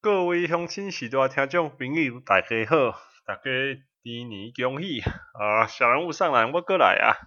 各位鄉親時代聽眾朋友大家好，大家豬年恭喜啊！小人物上籃我過來啊！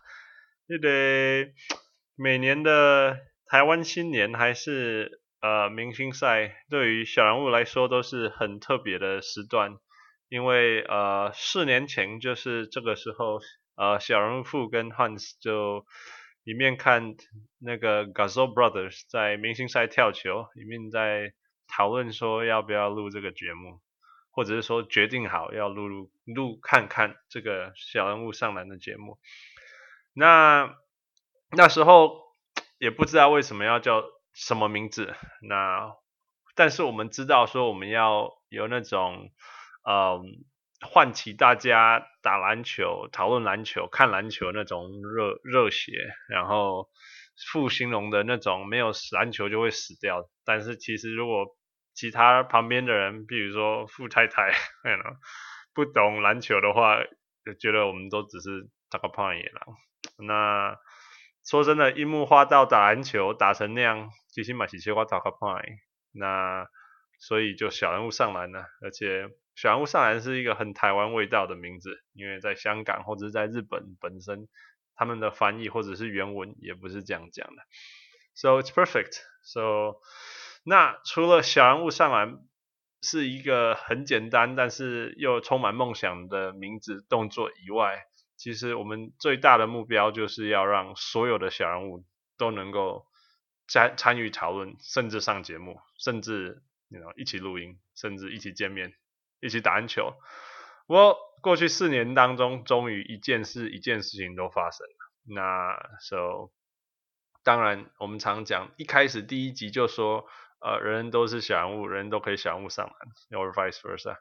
每年的台灣新年還是明星賽，對於小人物來說都是很特別的時段，因為4年前就是這個時候，小人物富跟 Hans 就一面看那個 Gasol Brothers 在明星賽跳球，一面在討論說要不要錄這個節目，或者是說決定好要錄看看這個小人物上籃的節目。那時候也不知道為什麼要叫什麼名字，但是我們知道說我們要有那種喚起大家打籃球、討論籃球、看籃球那種熱血，然後富形容的那種沒有籃球就會死掉。但是其實如果其他旁邊的人，比如說富太太不懂籃球的話，就覺得我們都只是打個胖野狼。那說真的，櫻木花道打籃球打成那樣，其實也是小可打個胖野。那所以就小人物上籃了，而且小人物上籃是一個很台灣味道的名字，因為在香港或者是在日本本身，他們的翻譯或者是原文也不是這樣講的。So it's perfect. So 那除了小人物上籃是一個很簡單但是又充滿夢想的名字動作以外，其實我們最大的目標就是要讓所有的小人物都能夠參與討論，甚至上節目，甚至一起錄音，甚至一起見面，一起打籃球。過去4年當中，終於一件事情都發生了。那 so 當然我們常講，一開始第一集就說人人都是小人物，人人都可以小人物上籃 or vice versa。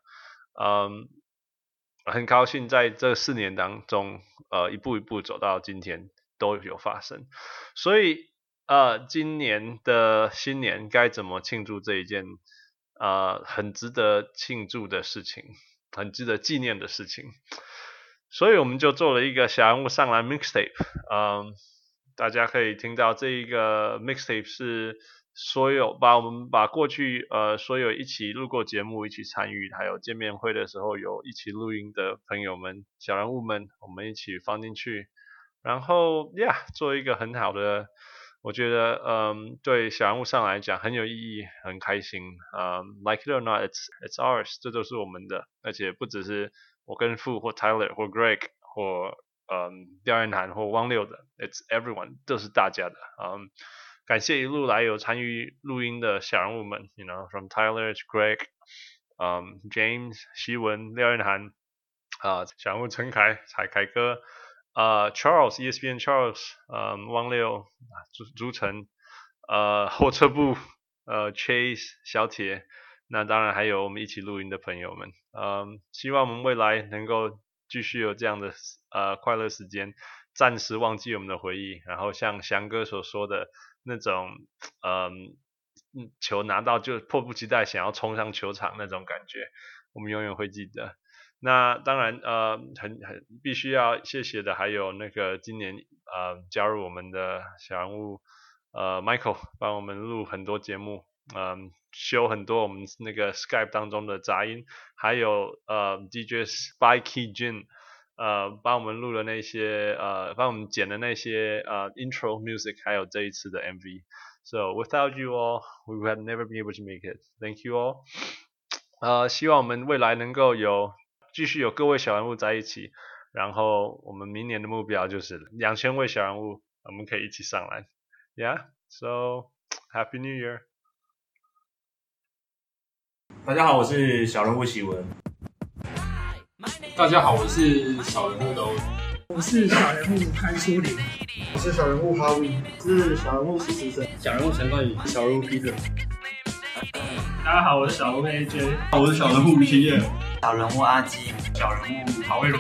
很高興在這4年當中一步一步走到今天都有發生。所以今年的新年該怎麼慶祝這一件很值得慶祝的事情，很值得紀念的事情。所以我們就做了一個小人物上籃 mixtape。大家可以聽到這一個 mixtape 是我們把過去所有一起錄過節目、一起參與還有見面會的時候有一起錄音的朋友們、小人物們，我們一起放進去，然後做一個很好的，我覺得對小人物上來講很有意義，很開心。Like it or not, it's ours， 這都是我們的，而且不只是我跟富或 Tyler 或 Greg 或廖彥涵或汪六的 ，it's everyone， 都是大家的。感謝一路來有參與錄音的小人物們 ，from Tyler to Greg，James 希文、廖彥涵，小人物陳凱、彩凱哥，Charles ESPN Charles， 汪六、朱晨，後撤步，Chase 小鐵，那當然還有我們一起錄音的朋友們，希望我們未來能夠繼續有這樣的快樂時間，暫時忘記我們的回憶，然後像翔哥所說的那種球拿到就迫不及待想要衝上球場那種感覺，我們永遠會記得。那當然必須要謝謝的還有那個今年加入我們的小人物Michael， 幫我們錄很多節目，修很多我們那個 Skype 當中的雜音，還有DJ Spikey Jin幫我們錄了那些幫我們剪的那些intro music， 還有這一次的 MV。 So without you all, we would have never been able to make it. Thank you all. 希望我們未來能夠繼續有各位小人物在一起，然後我們明年的目標就是2000位小人物，我們可以一起上籃。Yeah, so Happy New Year. 大家好，我是小人物喜文。 大家好，我是小人物的欧， 我是小人物潘書林， 我是小人物哈維， 我是小人物施时胜， 小人物陳冠宇， 小人物 Peter。 大家好，我是小人物 AJ， 我是小人物吴清业， 小人物阿基， 小人物曹魏如。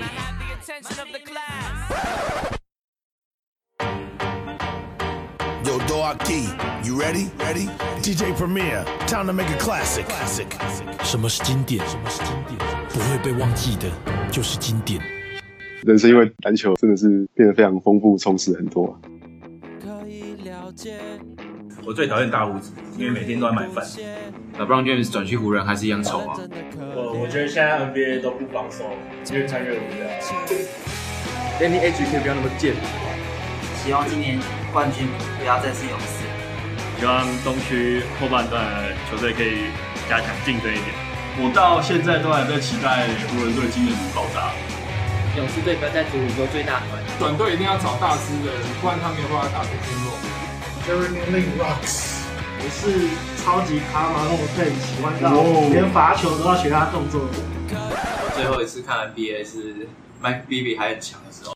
Yo, Doaki, you ready? Ready? DJ Premier, time to make a classic. 什麼是經典？不會被忘記的，就是經典。 人生因為籃球真的是變得非常豐富，充實很多。 我最討厭大鬍子，因為每天都在買飯。 LeBron James 轉去湖人還是一樣醜啊。 我覺得現在 NBA 都不防守，越看越無聊。 Danny H 可以不要那麼賤。 希望今年冠軍不要再是勇士。 希望東區後半段球隊可以加強競爭一點。 我到現在都還在期待湖人隊今年能爆炸。 勇士队不要再组宇宙最大团， 短队一定要找大只的，不然他没有办法打出天幕。 Jeremy Lin Rocks， 我是超級卡馬龙队，喜歡到連罰球都要學他動作。 我最後一次看 NBA 是 Mike Bibby 還很強的時候。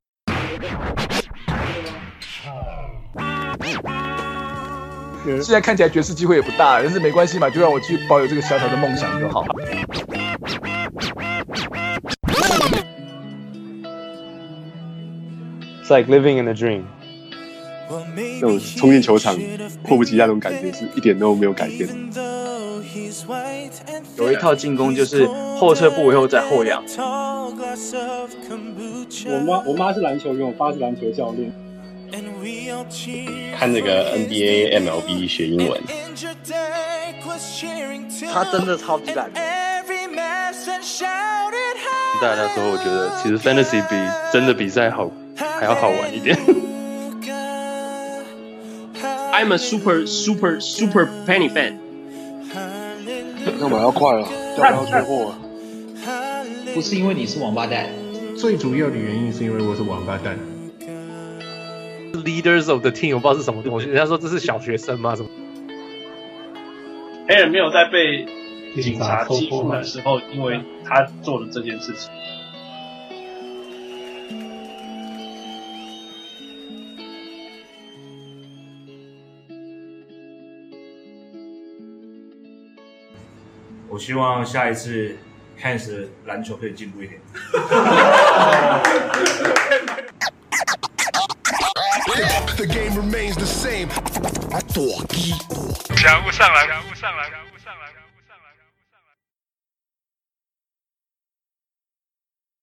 現在看起來爵士機會也不大，但是沒關係嘛，就讓我繼續保有這個小小的夢想就好。 It's like living in a dream。 那種冲进球场迫不及待那種感覺是一點都沒有改變。 有一套進攻就是後撤步以後再後仰。 我媽是籃球員，我爸是籃球教練。 看那個 NBA MLB 學英文， 他真的超級爛。 大那時候我覺得其實 Fantasy 比真的比賽還要好玩一點。 I'm a super Penny fan。 幹嘛要快了？要不要缺貨了？ 不是因為你是王八蛋， 最主要的原因是因為我是王八蛋。 Leaders of the team， 我不知道是什麼東西。人家說這是小學生嗎？什麼？ 黑人沒有在被警察緝捕的時候，因為他做了這件事情。 我希望下一次 Hans 的籃球可以進步一點。 The game remains the same. 小人物上來。